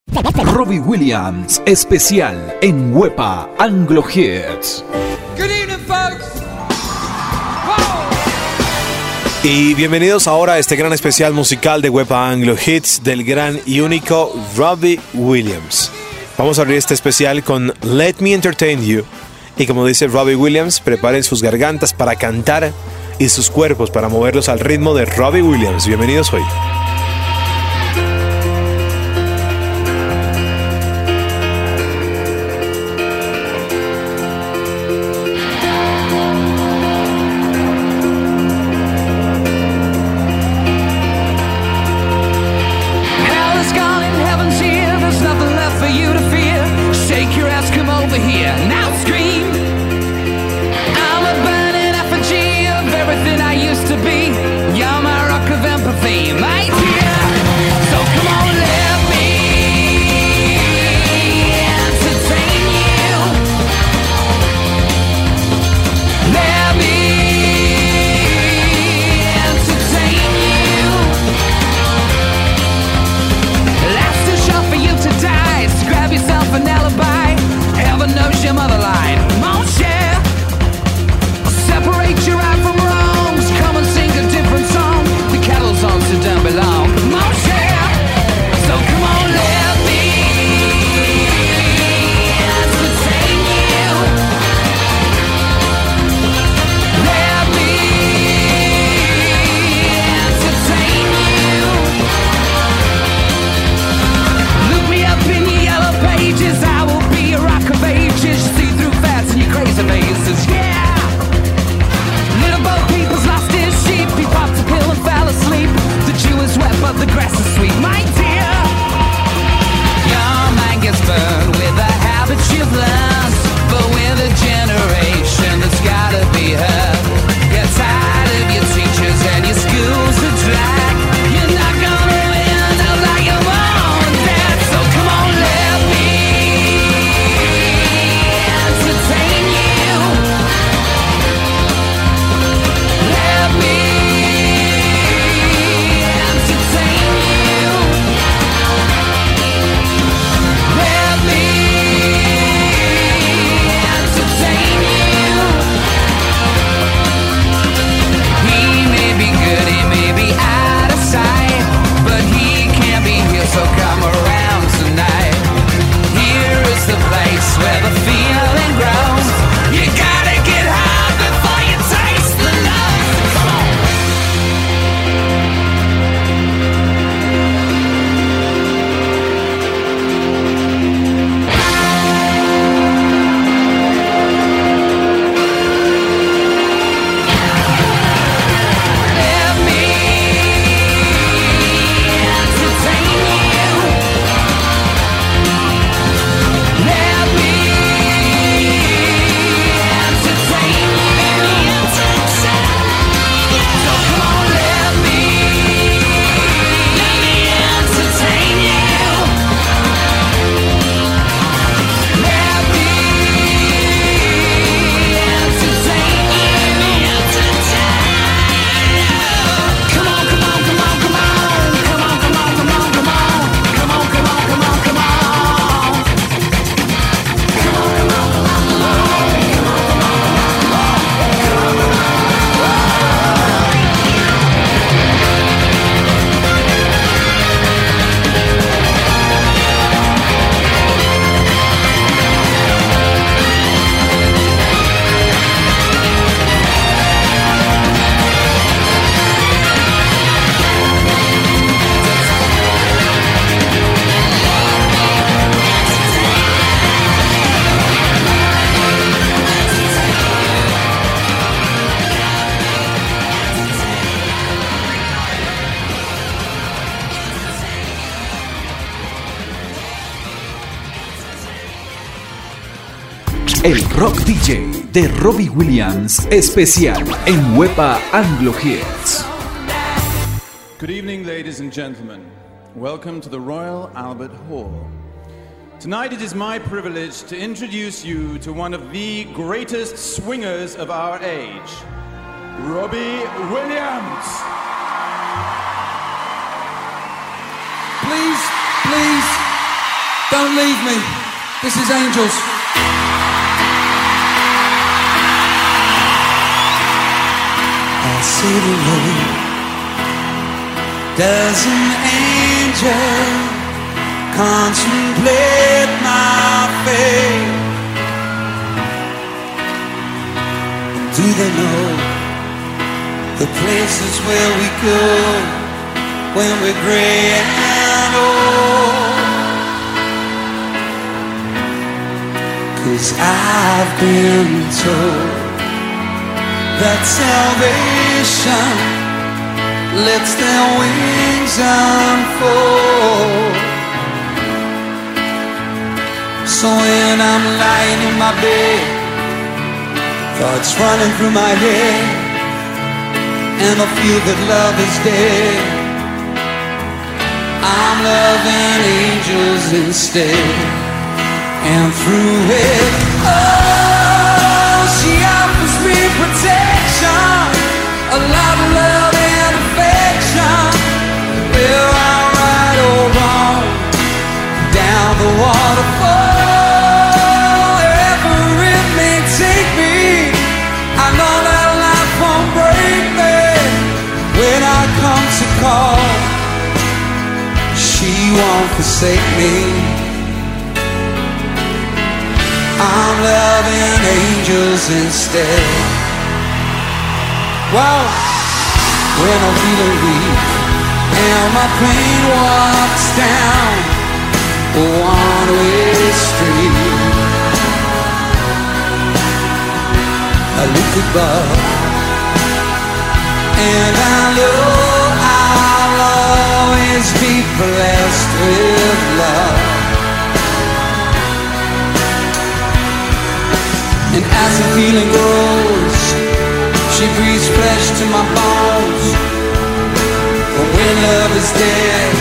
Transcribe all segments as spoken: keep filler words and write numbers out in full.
Robbie Williams, especial en Wepa Anglo Hits. Good evening, folks. Y bienvenidos ahora a este gran especial musical de Wepa Anglo Hits del gran y único Robbie Williams. Vamos a abrir este especial con Let Me Entertain You. Y como dice Robbie Williams, preparen sus gargantas para cantar y sus cuerpos para moverlos al ritmo de Robbie Williams. Bienvenidos hoy. El Rock D J de Robbie Williams, especial en Wepa Anglo Hits. Good evening, ladies and gentlemen. Welcome to the Royal Albert Hall. Tonight it is my privilege to introduce you to one of the greatest swingers of our age, Robbie Williams. Please, please, Don't leave me. This is Angels. I see the road. Does an angel contemplate my fate? Do they know the places where we go when we're gray and old? 'Cause I've been told that salvation lets their wings unfold. So when I'm lying in my bed, thoughts running through my head, and I feel that love is dead, I'm loving angels instead. And through it, oh, she offers me protection, a lot of love and affection. Where I'm right or wrong, down the waterfall, wherever it may take me, I know that life won't break me. When I come to call, she won't forsake me. I'm loving angels instead. Well, when I'm feeling weak and my pain walks down a one-way street, I look above and I know I'll always be blessed with love. And as the feeling grows, she breathes flesh to my bones. But when love is dead,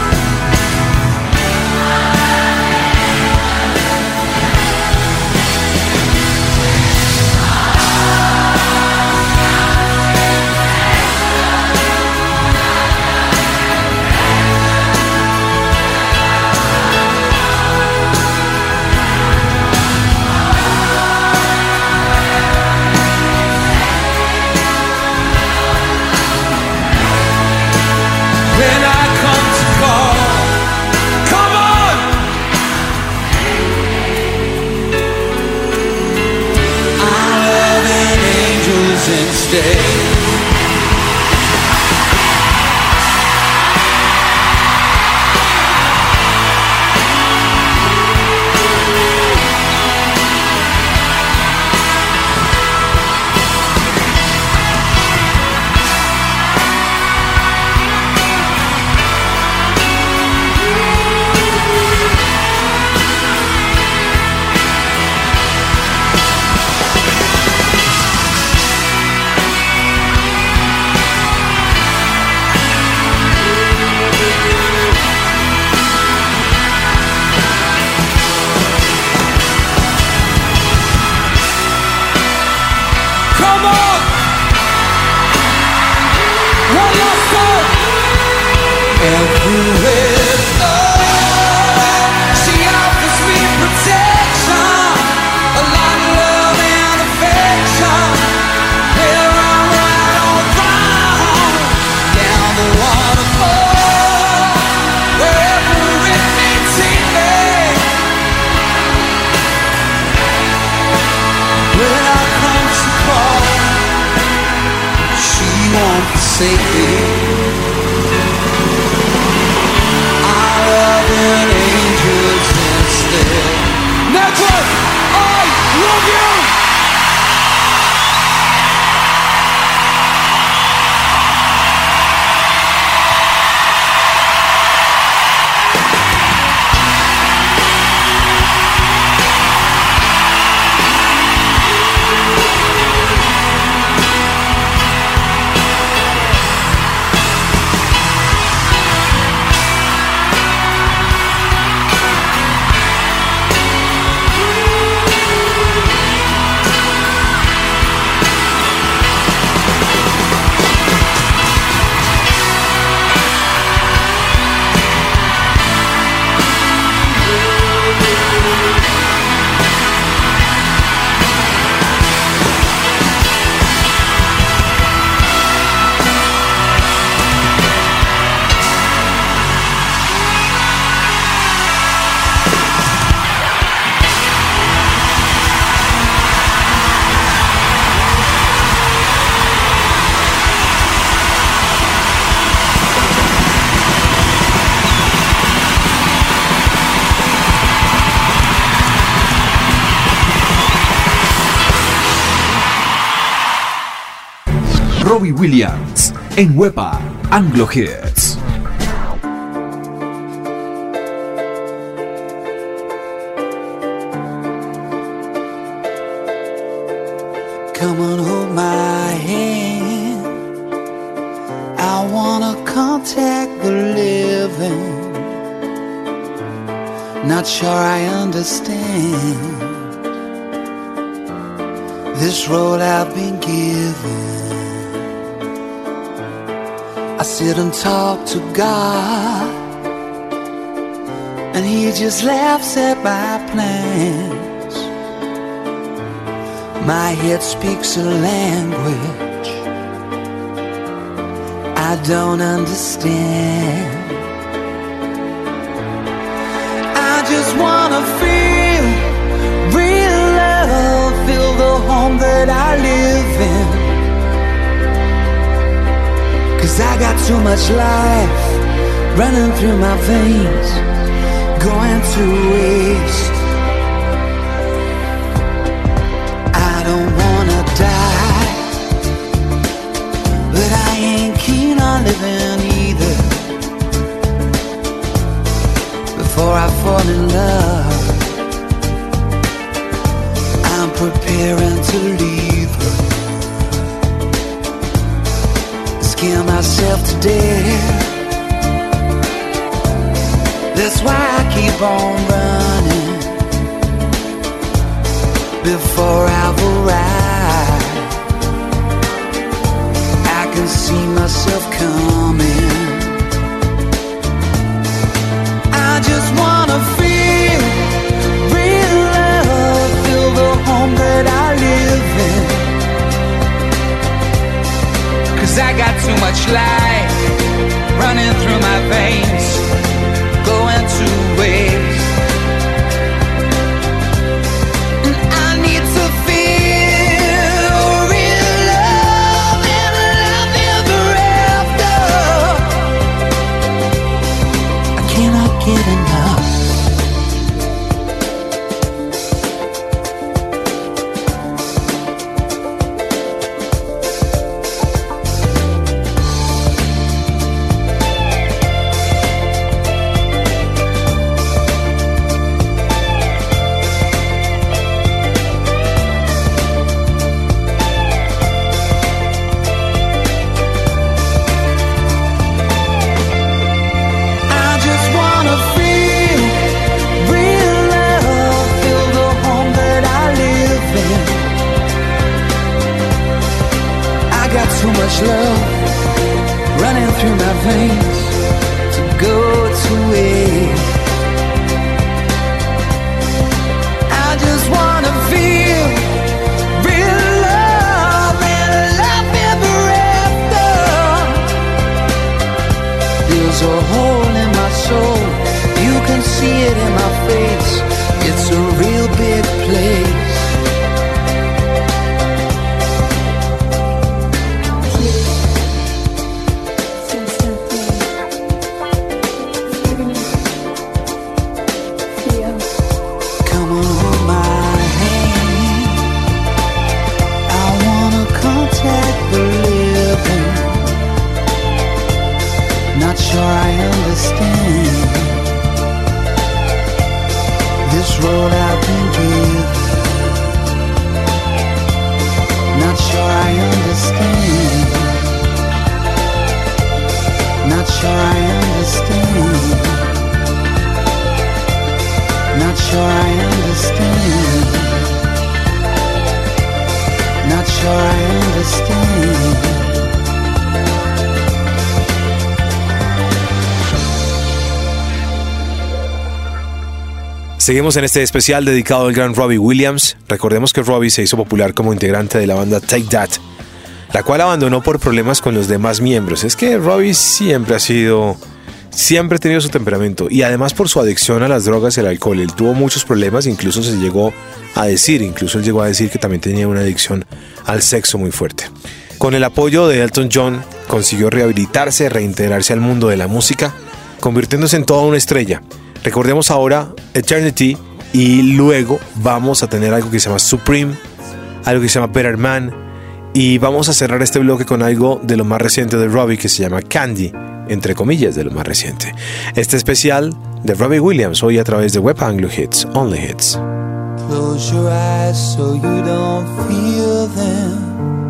when I come to call, come on! I'm loving angels instead. Come on! One last time! Everywhere, oh, she offers me protection, a lot of love and affection. Where I'm right or wrong, down the waterfall, wherever it may take me. When I come to call, she won't forsake me. I'm loving angels instead. Network, I love you! Robbie Williams en Wepa Anglo Hits. Come on, hold my hand. I wanna contact the living. Not sure I understand this road I've been given. I sit and talk to God, and He just laughs at my plans. My head speaks a language I don't understand. I just wanna feel real love, feel the home that I live in. 'Cause I got too much life running through my veins, going to waste. I don't wanna die, but I ain't keen on living either. Before I fall in love, I'm preparing to leave her. Scare myself to death. That's why I keep on running. Before I've arrived, I can see myself coming. I just wanna feel real love, feel the home that I live in. 'Cause I got too much life running through my veins, going to waste. And I need to feel real love and love ever after. I cannot get enough. Too much love running through my veins to go to waste. I just wanna feel real love and love ever after. There's a hole in my soul, you can see it in my face. It's a real big place. Not sure I understand this road I've been given. Not sure I understand. Not sure I understand. Not sure I understand. Not sure I understand. Seguimos en este especial dedicado al gran Robbie Williams. Recordemos que Robbie se hizo popular como integrante de la banda Take That, la cual abandonó por problemas con los demás miembros. Es que Robbie siempre ha sido, siempre ha tenido su temperamento, y además por su adicción a las drogas y el alcohol. Él tuvo muchos problemas, incluso se llegó a decir, incluso él llegó a decir que también tenía una adicción al sexo muy fuerte. Con el apoyo de Elton John, consiguió rehabilitarse, reintegrarse al mundo de la música, convirtiéndose en toda una estrella. Recordemos ahora Eternity, y luego vamos a tener algo que se llama Supreme, algo que se llama Better Man, Y vamos a cerrar este bloque con algo de lo más reciente de Robbie que se llama Candy, entre comillas de lo más reciente. Este especial de Robbie Williams hoy a través de Web Anglo Hits, Only Hits. Close your eyes so you don't feel them.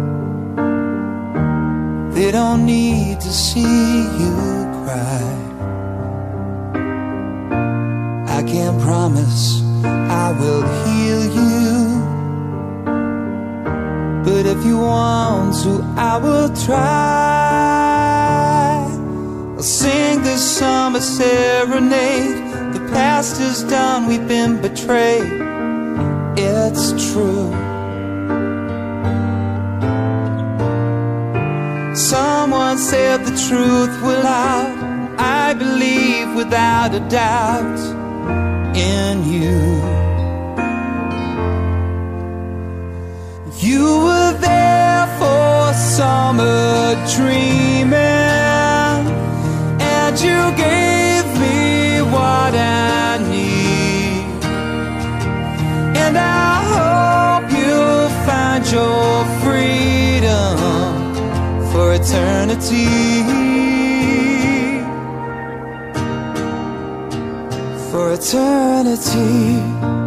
They don't need to see you cry. I can't promise I will heal you, but if you want to, I will try. I'll sing this summer serenade. The past is done, we've been betrayed. It's true. Someone said the truth will out. I believe without a doubt in you. You were there for summer dreaming, and you gave me what I need. And I hope you'll find your freedom for eternity. For eternity.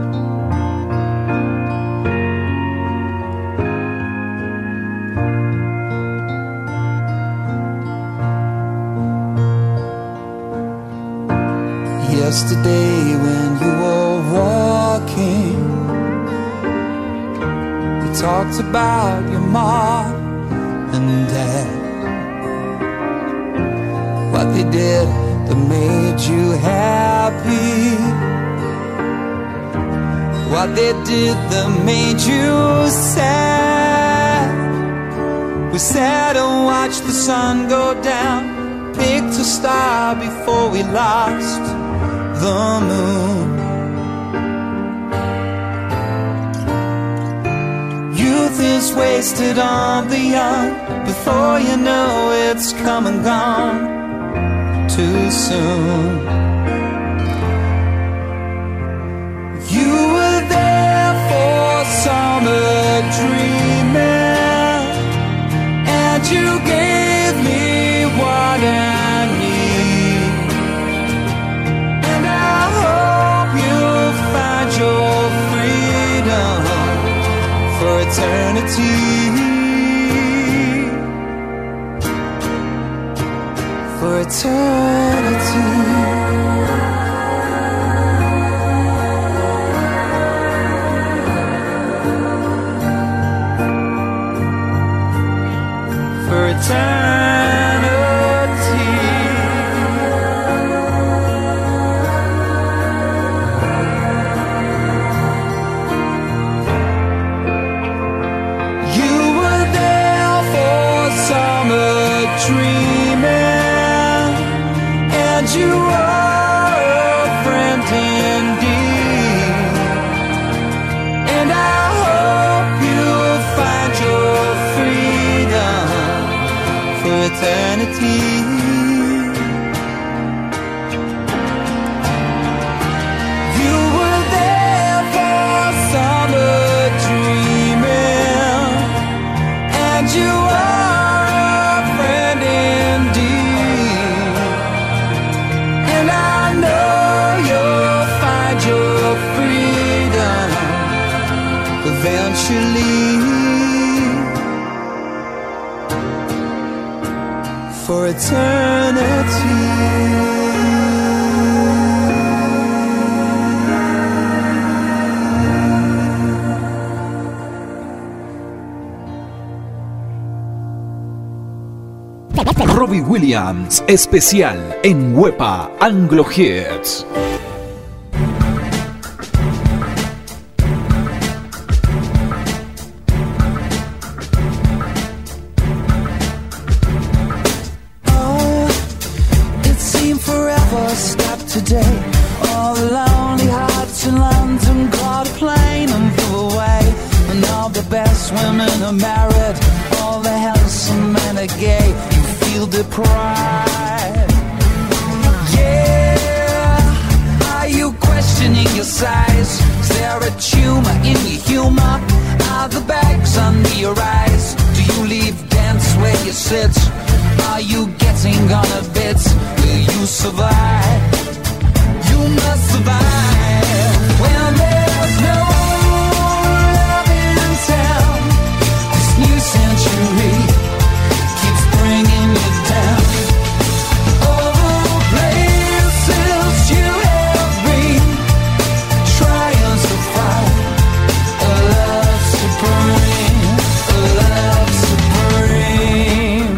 Yesterday when you were walking, you talked about your mom and dad, what they did that made you happy, what they did that made you sad. We sat and watched the sun go down, picked a star before we lost the moon. Youth is wasted on the young. Before you know it's come and gone too soon. You were there for summer dreaming, and you gave me what I need. And I hope you'll find your freedom for eternity. For eternity. For eternity. You were there for summer dreaming, and you are a friend indeed. And I hope you'll find your freedom for eternity. You were there for summer dreaming, and you are a friend indeed. And I know you'll find your freedom eventually. For eternity. Robbie Williams, especial en Wepa Anglo Hits. Oh, it seemed forever stopped today. All the lonely hearts in London caught a plane and flew away. And all the best women are married, all the handsome men are gay. You feel deprived. Yeah, are you questioning your size? Is there a tumor in your humor? Are the bags under your eyes? Do you sit? Are you getting on a bit? Will you survive? You must survive. When there's no love in town, this new century keeps bringing you down. All the places you have been, trying to find a love supreme, a love supreme.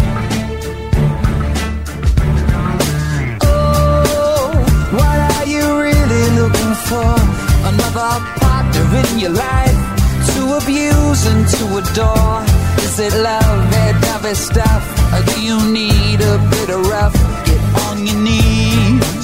Oh, what are you really looking for? Another partner in your life to abuse and to adore? Is it love, that heavy stuff? Or do you need a bit of rough? Get on your knees.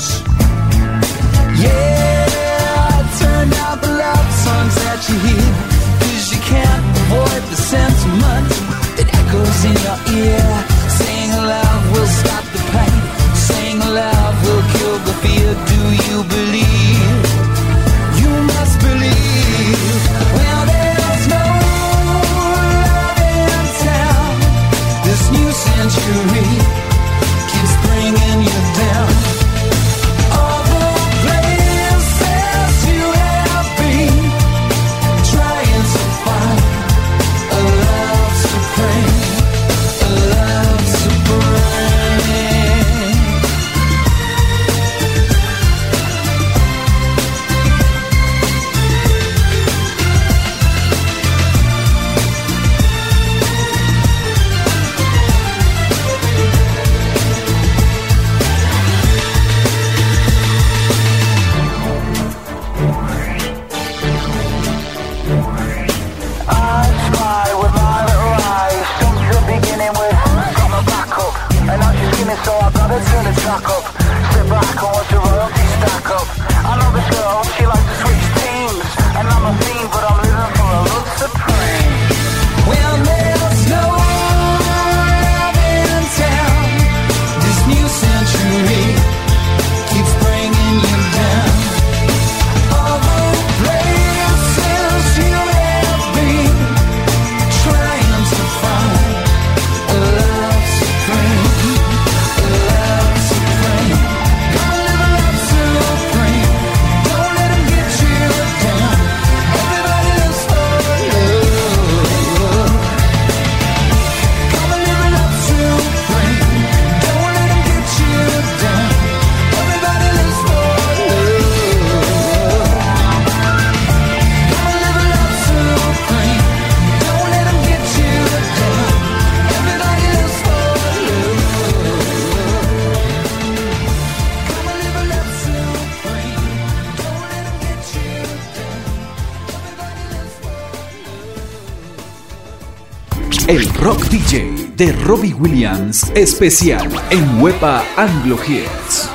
Yeah, turn out the love songs that you hear, 'cause you can't avoid the sentiment that echoes in your ear. Saying love will stop the pain, saying love will kill the fear. Do you believe? You must believe. Well, there's no love in town. This new century keeps bringing you down. All the places you have been, trying to find a love supreme, a love supreme. I spy with my little eyes, since the beginning with got my back up, and now she's skimming, so I've got to turn the track up. Sit back and watch the royalty stack up. I know this girl, she likes to switch teams, and I'm a fiend, but I'm living for a love supreme. Well, there's no love in town. This new century keeps bringing you down. All the places you have been, trying to find a love supreme, a love supreme. Gonna live a love supreme. Don't let 'em get you down. Everybody lives for love. Gonna live a love supreme. Don't let 'em get you down. Everybody lives for love. Gonna live a love supreme. Don't let 'em get you down. Everybody lives for love. Gonna live a love supreme. Don't let 'em get you down. Everybody lives for love. El Rock D J de Robbie Williams, especial en Wepa Anglo Hits.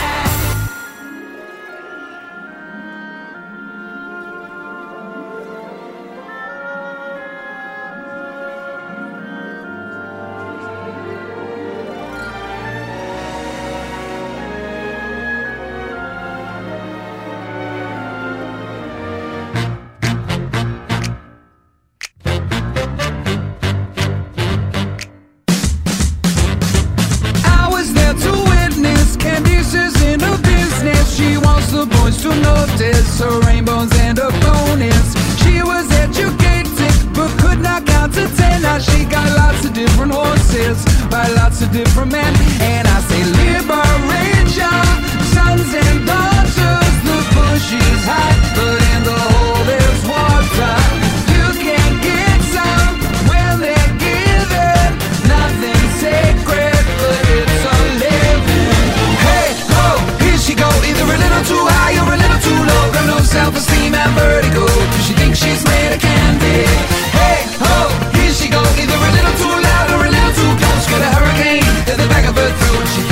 I was there to witness Candice's in her business. She wants the boys to notice her rainbows and her bonus. She was educated but could not count to ten. Now she got lots of different horses by lots of different men. And I say liberation, sons and daughters. The bush is high, but in the hole there's water. You can get some when they're given. Nothing sacred, but it's a living. Hey, ho, here she go. Either a little too high or a little too low. Got no self-esteem and vertigo. She thinks she's made of candy. Hey, ho, here she go. Either a little too loud or a little too close. Got a hurricane at the back of her throat. She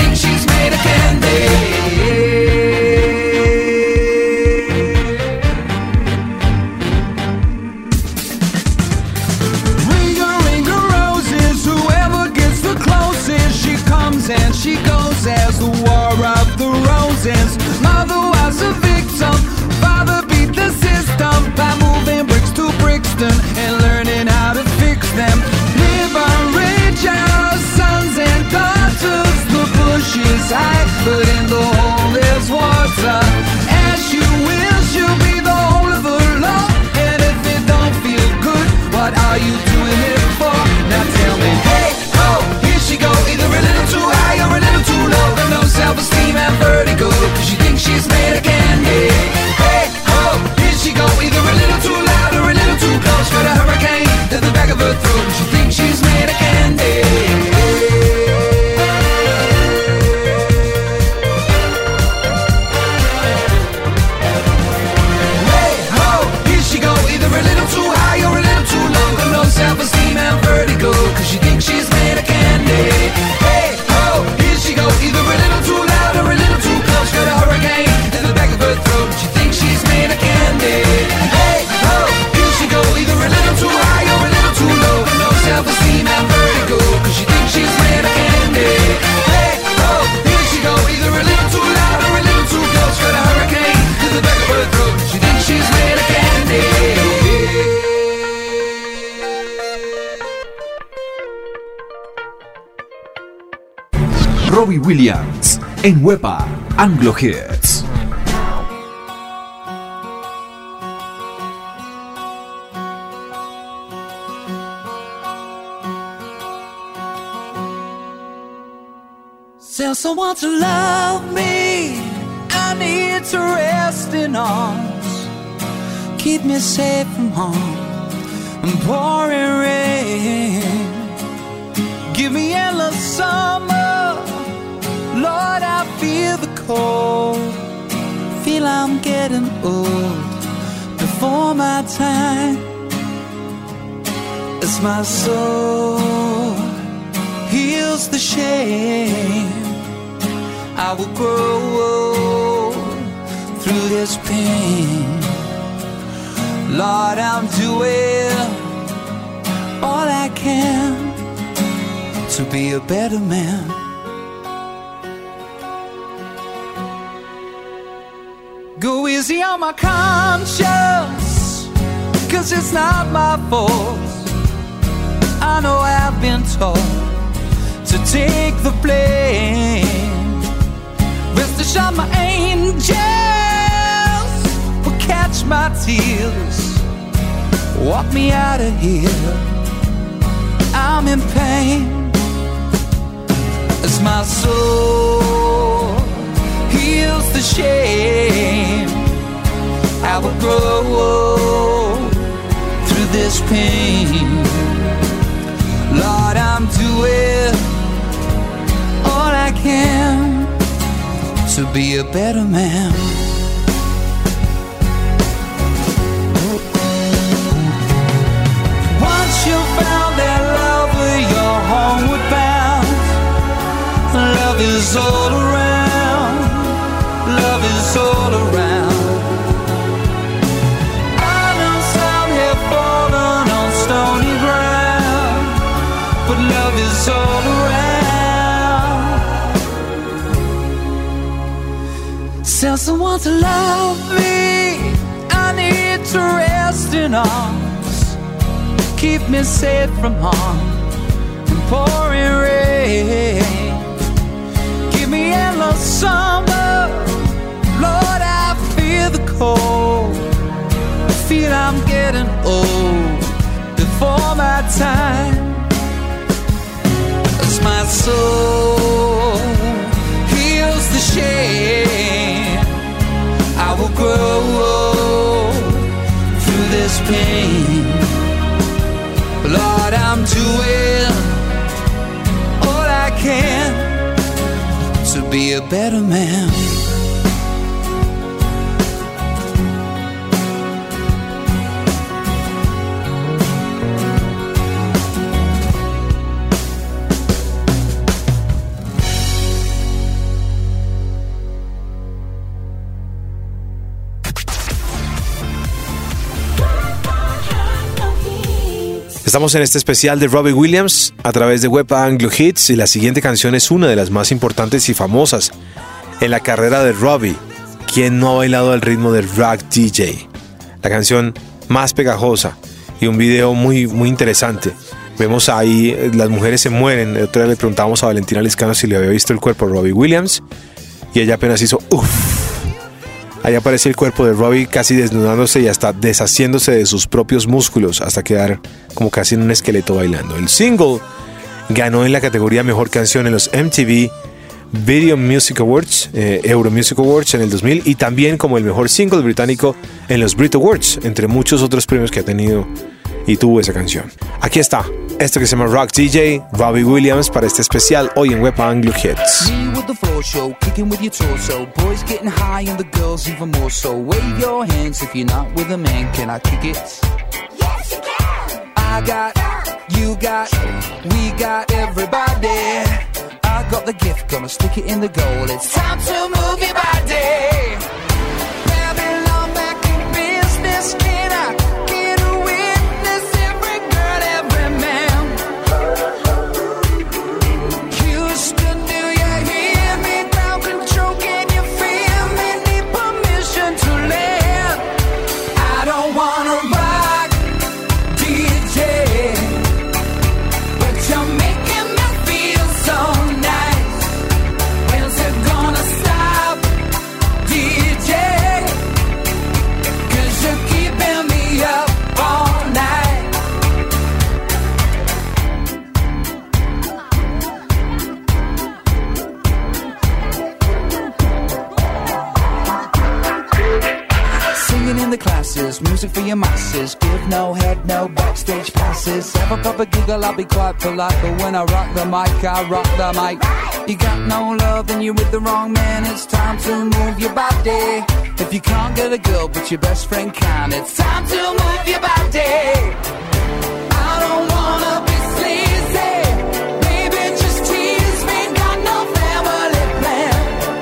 Robbie Williams en Wepa Anglo Hits. Tell someone to love me. I need to rest in arms. Keep me safe from harm and pouring rain. Give me endless summer. Lord, I feel the cold. Feel I'm getting old before my time. As my soul heals the shame, I will grow through this pain. Lord, I'm doing all I can to be a better man. Go easy on my conscience, 'cause it's not my fault. I know I've been told to take the blame. Rest assured my angels will catch my tears, walk me out of here. I'm in pain as my soul heals the shame. I will grow through this pain. Lord, I'm doing all I can to be a better man. Once you found that love, you're homeward bound. Love is all around. Love is all around. I know some have fallen on stony ground, but love is all around. Tell someone to love me. I need to rest in arms. Keep me safe from harm and pouring rain. Give me endless summer. Lord, I feel the cold. I feel I'm getting old before my time. As my soul heals the shame, I will grow through this pain. Lord, I'm doing all I can to be a better man. Estamos en este especial de Robbie Williams a través de Wepa Anglo Hits y la siguiente canción es una de las más importantes y famosas en la carrera de Robbie. ¿Quién no ha bailado al ritmo del Rock D J? La canción más pegajosa y un video muy, muy interesante. Vemos ahí, las mujeres se mueren. El otro día le preguntábamos a Valentina Liscano si le había visto el cuerpo de Robbie Williams y ella apenas hizo uff. Ahí aparece el cuerpo de Robbie casi desnudándose y hasta deshaciéndose de sus propios músculos hasta quedar como casi en un esqueleto bailando. El single ganó en la categoría Mejor Canción en los M T V Video Music Awards, eh, Euro Music Awards en el dos mil y también como el mejor single británico en los Brit Awards, entre muchos otros premios que ha tenido y tuvo esa canción. Aquí está, esto que se llama Rock D J, Robbie Williams, para este especial hoy en Wepa Anglo Hits. Me with the floor show, kicking with your torso. Boys getting high and the girls even more so. Wave your hands if you're not with a man. Can I kick it? Yes, you can. I got, you got, we got everybody. I got the gift, gonna stick it in the goal. It's time to move your body. Babylon back in business. Can I get a witness? Every girl, every man. Houston, do you hear me? Ground control, can you feel me? Need permission to land. I don't wanna rock D J, but you're making me feel so nice. singing in the classes, music for your masses. Give no head, no backstage passes. Have a proper giggle, I'll be quite polite. But when I rock the mic, I rock the mic. You got no love, then you're with the wrong man. It's time to move your body. If you can't get a girl, but your best friend can, it's time to move your body. I don't wanna be sleazy. Baby, just tease me. Got no family plan.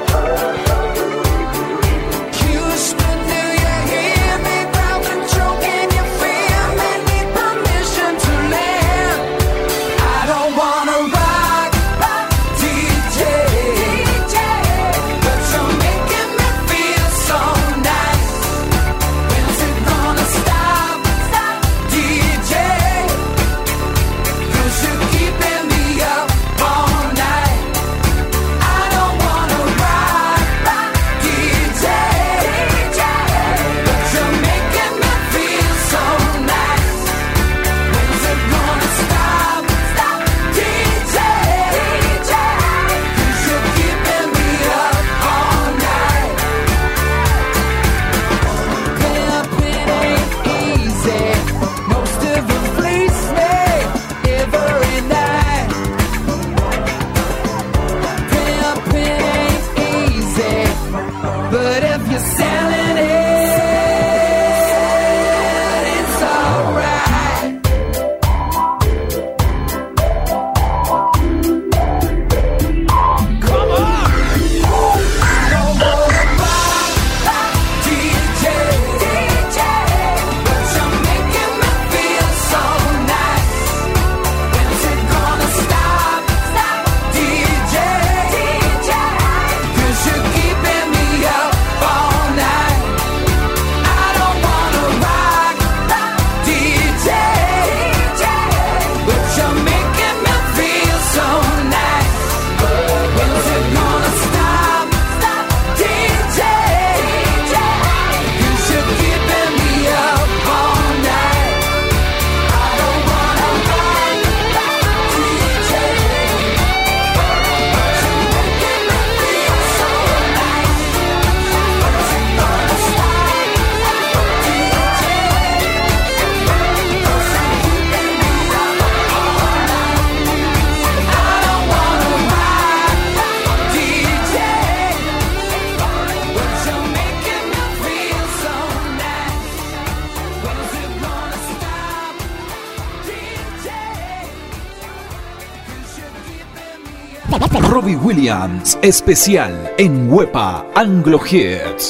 Houston, do you hear me? Proud control, can you feel me? Need permission to land. I don't wanna rock, rock, D J, D J, but you're making me feel so nice. When's it gonna stop, stop, D J? 'Cause you're keeping me up all night. I don't wanna rock, rock, D J, D J, but you're making me feel so nice. When's it gonna stop, stop, D J, D J? 'Cause you're keeping me up all night. Pimping ain't easy. Most of them fleece me every night. Pimping ain't easy, but if you're selling it, it's alright. Come on! I don't wanna rock, rock, D J, D J, but you're making me feel so nice. When's it gonna stop, stop, D J, D J? 'Cause you're keeping me up all night. I don't wanna rock, rock, D J, D J, but you're making me feel so nice. When's it gonna stop, stop, D J, D J? 'Cause you're keeping me up all night. I don't wanna rock, rock, D J, but you're making me feel so nice. When's it gonna stop, stop, D J? 'Cause you're keeping me up all night. I don't wanna rock, rock, D J, but you're making me feel so nice. When's it gonna stop, D J? 'Cause you're keeping me up. Robbie Williams, especial en Wepa Anglo Hits.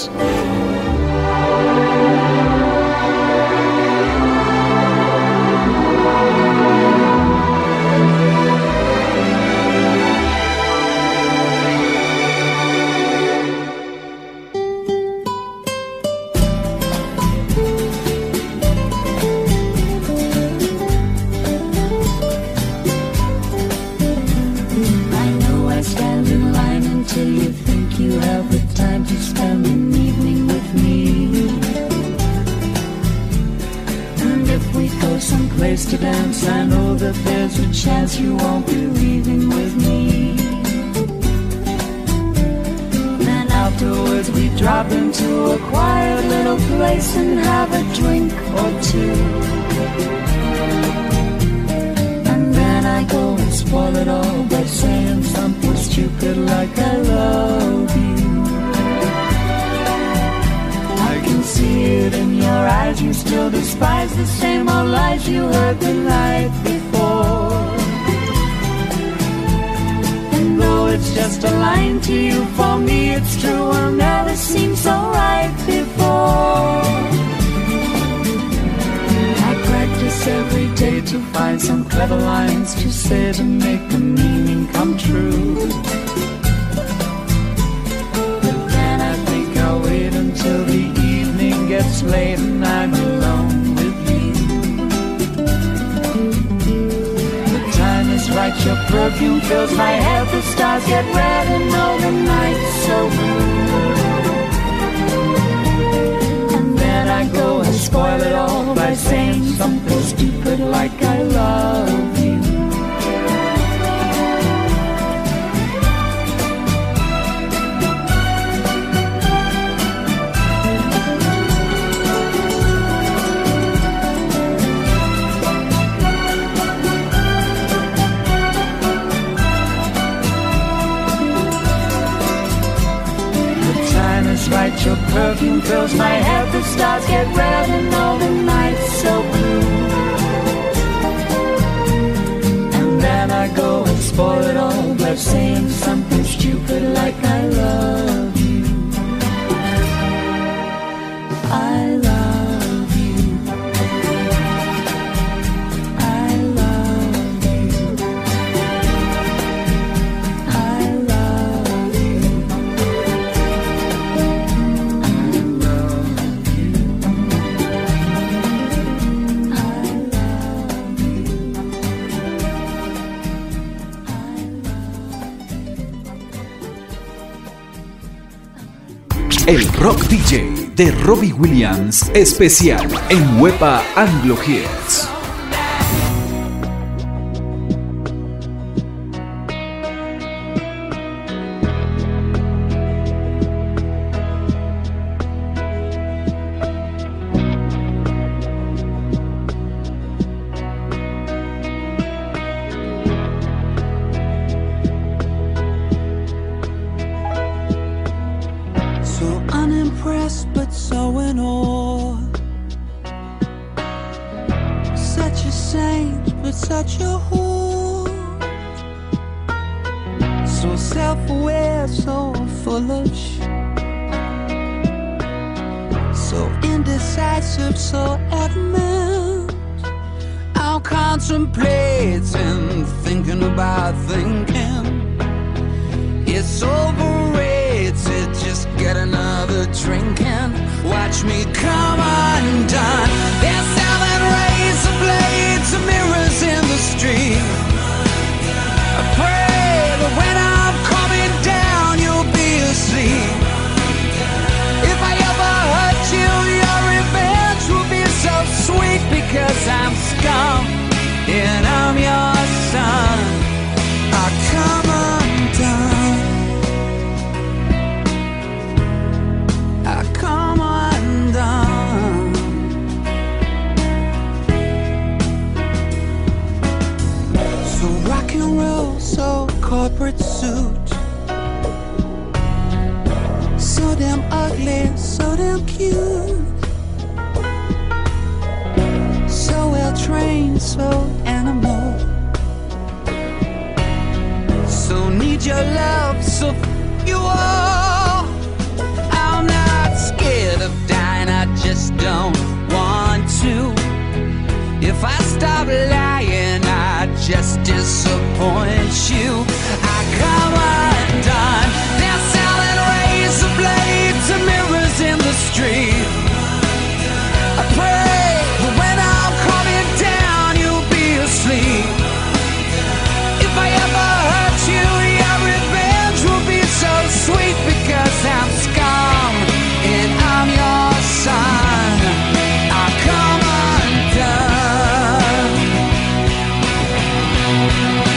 I know I stand in line until you think you have the time to spend an evening with me. And if we go someplace to dance, I know that there's a chance you won't be leaving with me. Then afterwards we drop into a quiet little place and have a drink or two. And then I go and spoil it all by saying something stupid like I love you. I can see it in your eyes, you still despise the same old lies you heard the night before. And though it's just a line to you, for me it's true, will never seem so right before. I practice every day to find some clever lines to say to make the meaning come true. But then I think I'll wait until the evening gets late and I'm alone with you. The time is right, your perfume fills my head, the stars get red and all the night's so blue. And then I go and spoil it all by saying something stupid like I love you. fills my head, the stars get red and all the night's so blue. And then I go and spoil it all by saying something stupid like I love you. I love you. I love you. I love you. El Rock D J de Robbie Williams, especial en Wepa Anglo Hits. So unimpressed but so in awe. Such a saint but such a whore. So self-aware, so full of sh. So indecisive, so adamant. I'm contemplating, thinking about thinking. It's overrated, just get another drink and watch me come undone. They're selling razor blades and mirrors in the street. I pray that when I'm coming down you'll be asleep. If I ever hurt you, your revenge will be so sweet, because I'm scum and I'm your son. I come undone. Come undone. So rock and roll, so corporate suit. So damn ugly, so damn cute. So well trained, so animal. So need your love, so f- you all. I'm not scared of dying, I just don't want to. If I stop lying, I just disappoint you. I come undone. They're selling razor blades and mirrors in the street. I pray that when I'm coming down, you'll be asleep. If I ever hurt you, your revenge will be so sweet, because I'm scum and I'm your son. I come undone.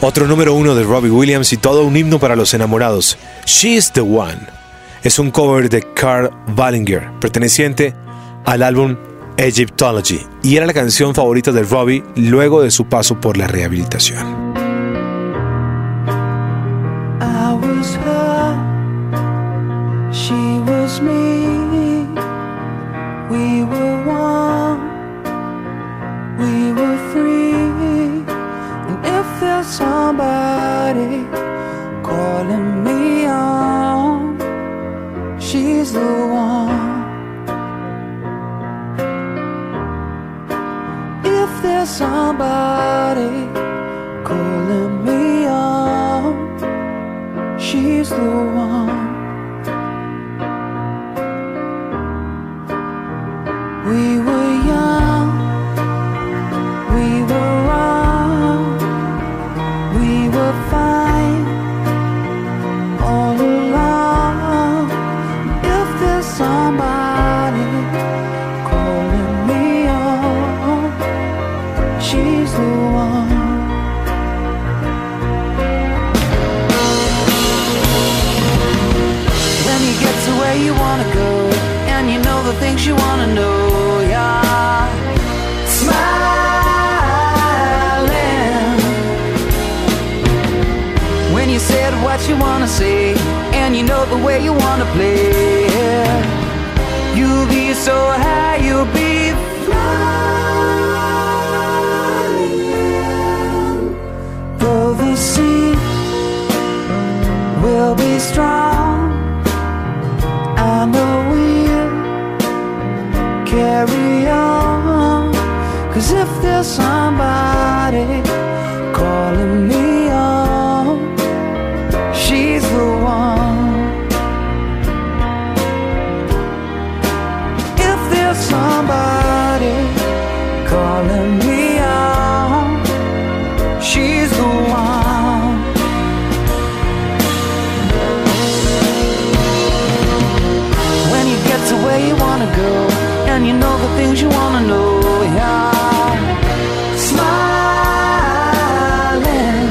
Otro número uno de Robbie Williams y todo un himno para los enamorados. She's the One. Es un cover de Karl Wallinger, perteneciente al álbum Egyptology, y era la canción favorita de Robbie luego de su paso por la rehabilitación. I was her, she was me, we were one, we were free, and if there's somebody calling me on, she's the one. If there's somebody calling me on, she's the one. We were young, we were wrong, we were fine all along. If there's somebody calling me on, she's the one. When you get to where you wanna go, and you know the things you wanna know, yeah. Smiling. When you said what you wanna say, and you know the way you wanna play, yeah. You'll be so high, you'll be flying. Though the sea will be strong, I know we'll carry on. 'Cause if there's somebody calling me on, she's the one. If there's somebody calling me on, she's the one. When you get to where you wanna go, and you know the things you wanna know, yeah. Smiling.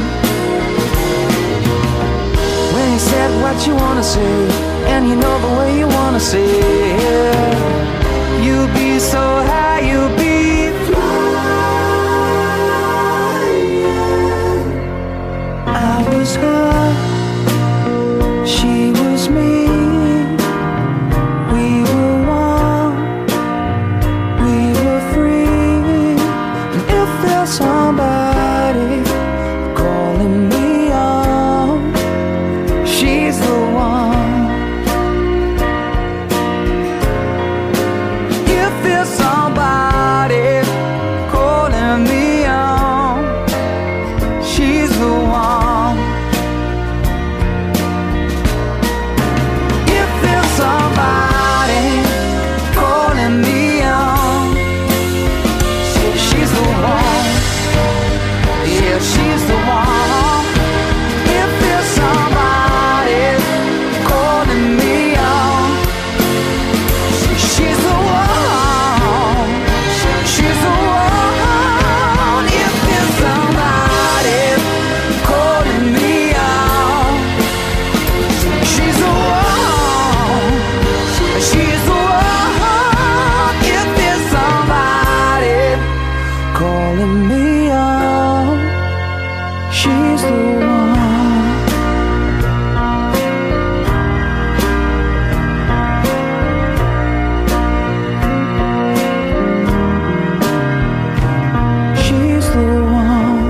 When you said what you wanna say, and you know the way you wanna say, yeah. You'll be so high, you'll be flying. I was her, she was me, we were one, we were free. And if there's somebody calling me on, she's the one. If there's somebody calling me on, she's the one. If there's somebody calling me on, she's the one. Yeah, she's the one. If there's somebody calling me on, she's the one. She's the one. If there's somebody calling me on, she's the one. She's the one. If there's somebody calling me on, she's the one. She's the one.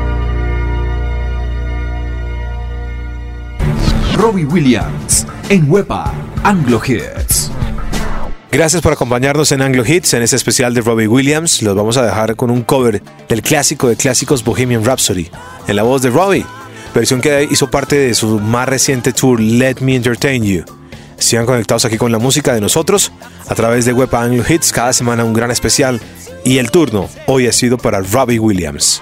Robbie Williams en Wepa Anglo Hits. Gracias por acompañarnos en Anglo Hits, en este especial de Robbie Williams. Los vamos a dejar con un cover del clásico de clásicos Bohemian Rhapsody, en la voz de Robbie, versión que hizo parte de su más reciente tour Let Me Entertain You. Sigan conectados aquí con la música de nosotros a través de Wepa Anglo Hits, cada semana un gran especial, y el turno hoy ha sido para Robbie Williams.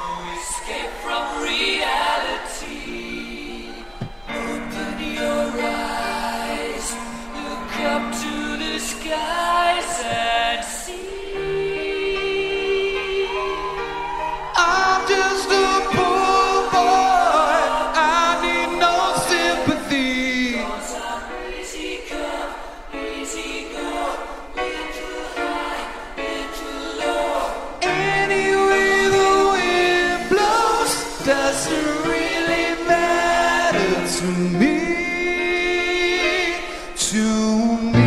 Escape from reality. Open your eyes. to me, to me.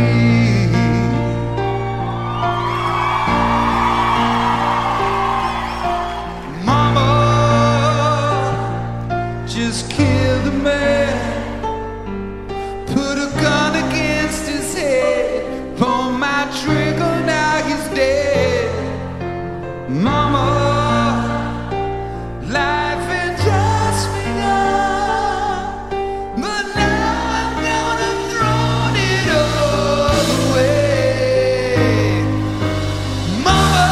Mama, just killed a man, put a gun against his head, pull my trigger, now he's dead. Mama, life had just begun, but now I'm gonna throw it all away. Mama,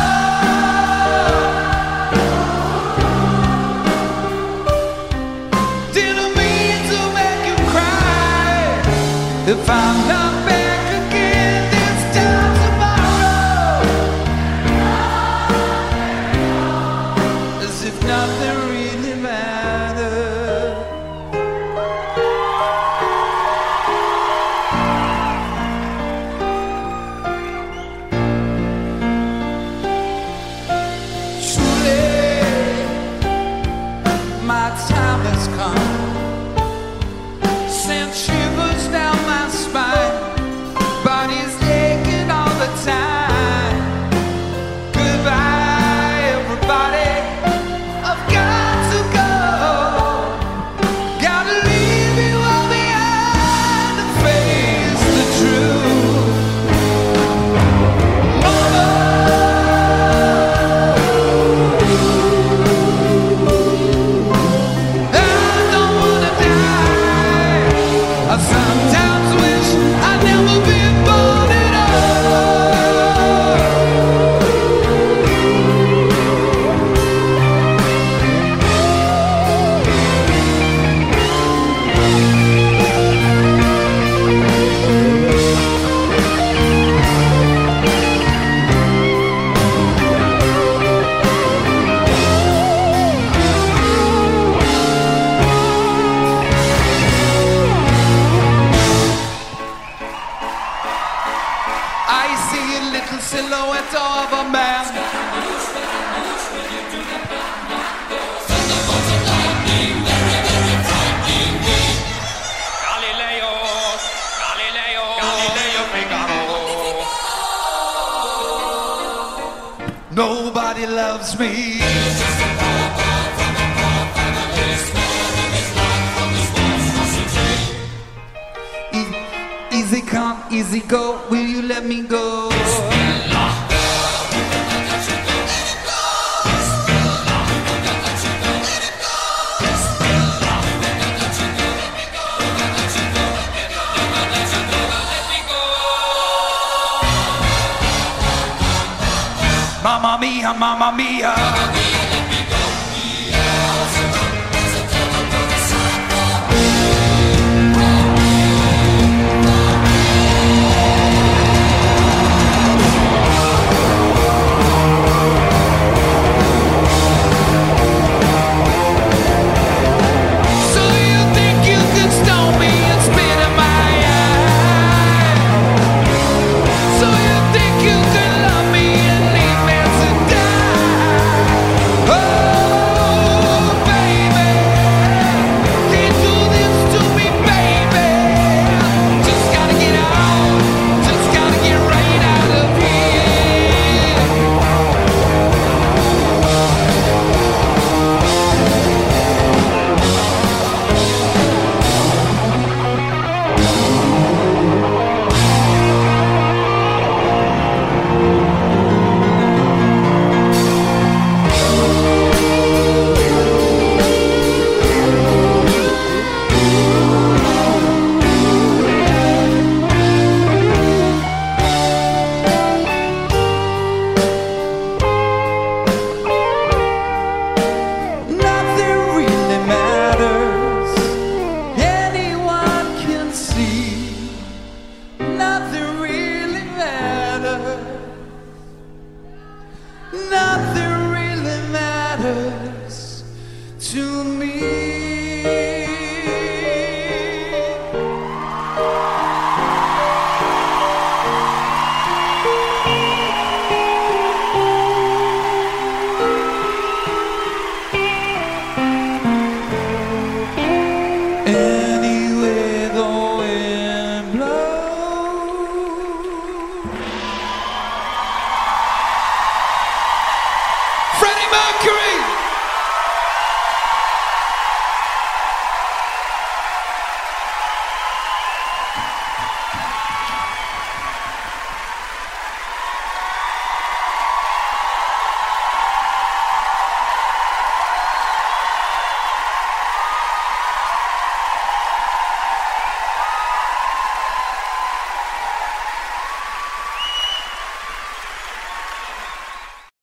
didn't mean to make you cry. If I'm not back again this time tomorrow, as if nothing really mattered. Truly, my time has come, sent shivers down my spine, body's aching all the time. Goodbye, everybody, I've got to go. Gotta leave you all behind to face the truth. Mama, I don't wanna die. I sometimes wish I'd never been born at all. I see a little silhouette of a man. Galileo, Galileo, Galileo Figaro. Nobody loves me. E- Easy come, easy go, will you let me go? Mamma mia, mamma mia. So you think you can stone me and spit in my eye? So you think you can love me and leave me to die? Oh, baby, can't do this to me, baby. Just gotta get out, just gotta get right out of here. Nothing really matters. Anyone can see. Nothing really matters. Nothing really matters to me. Anyone you.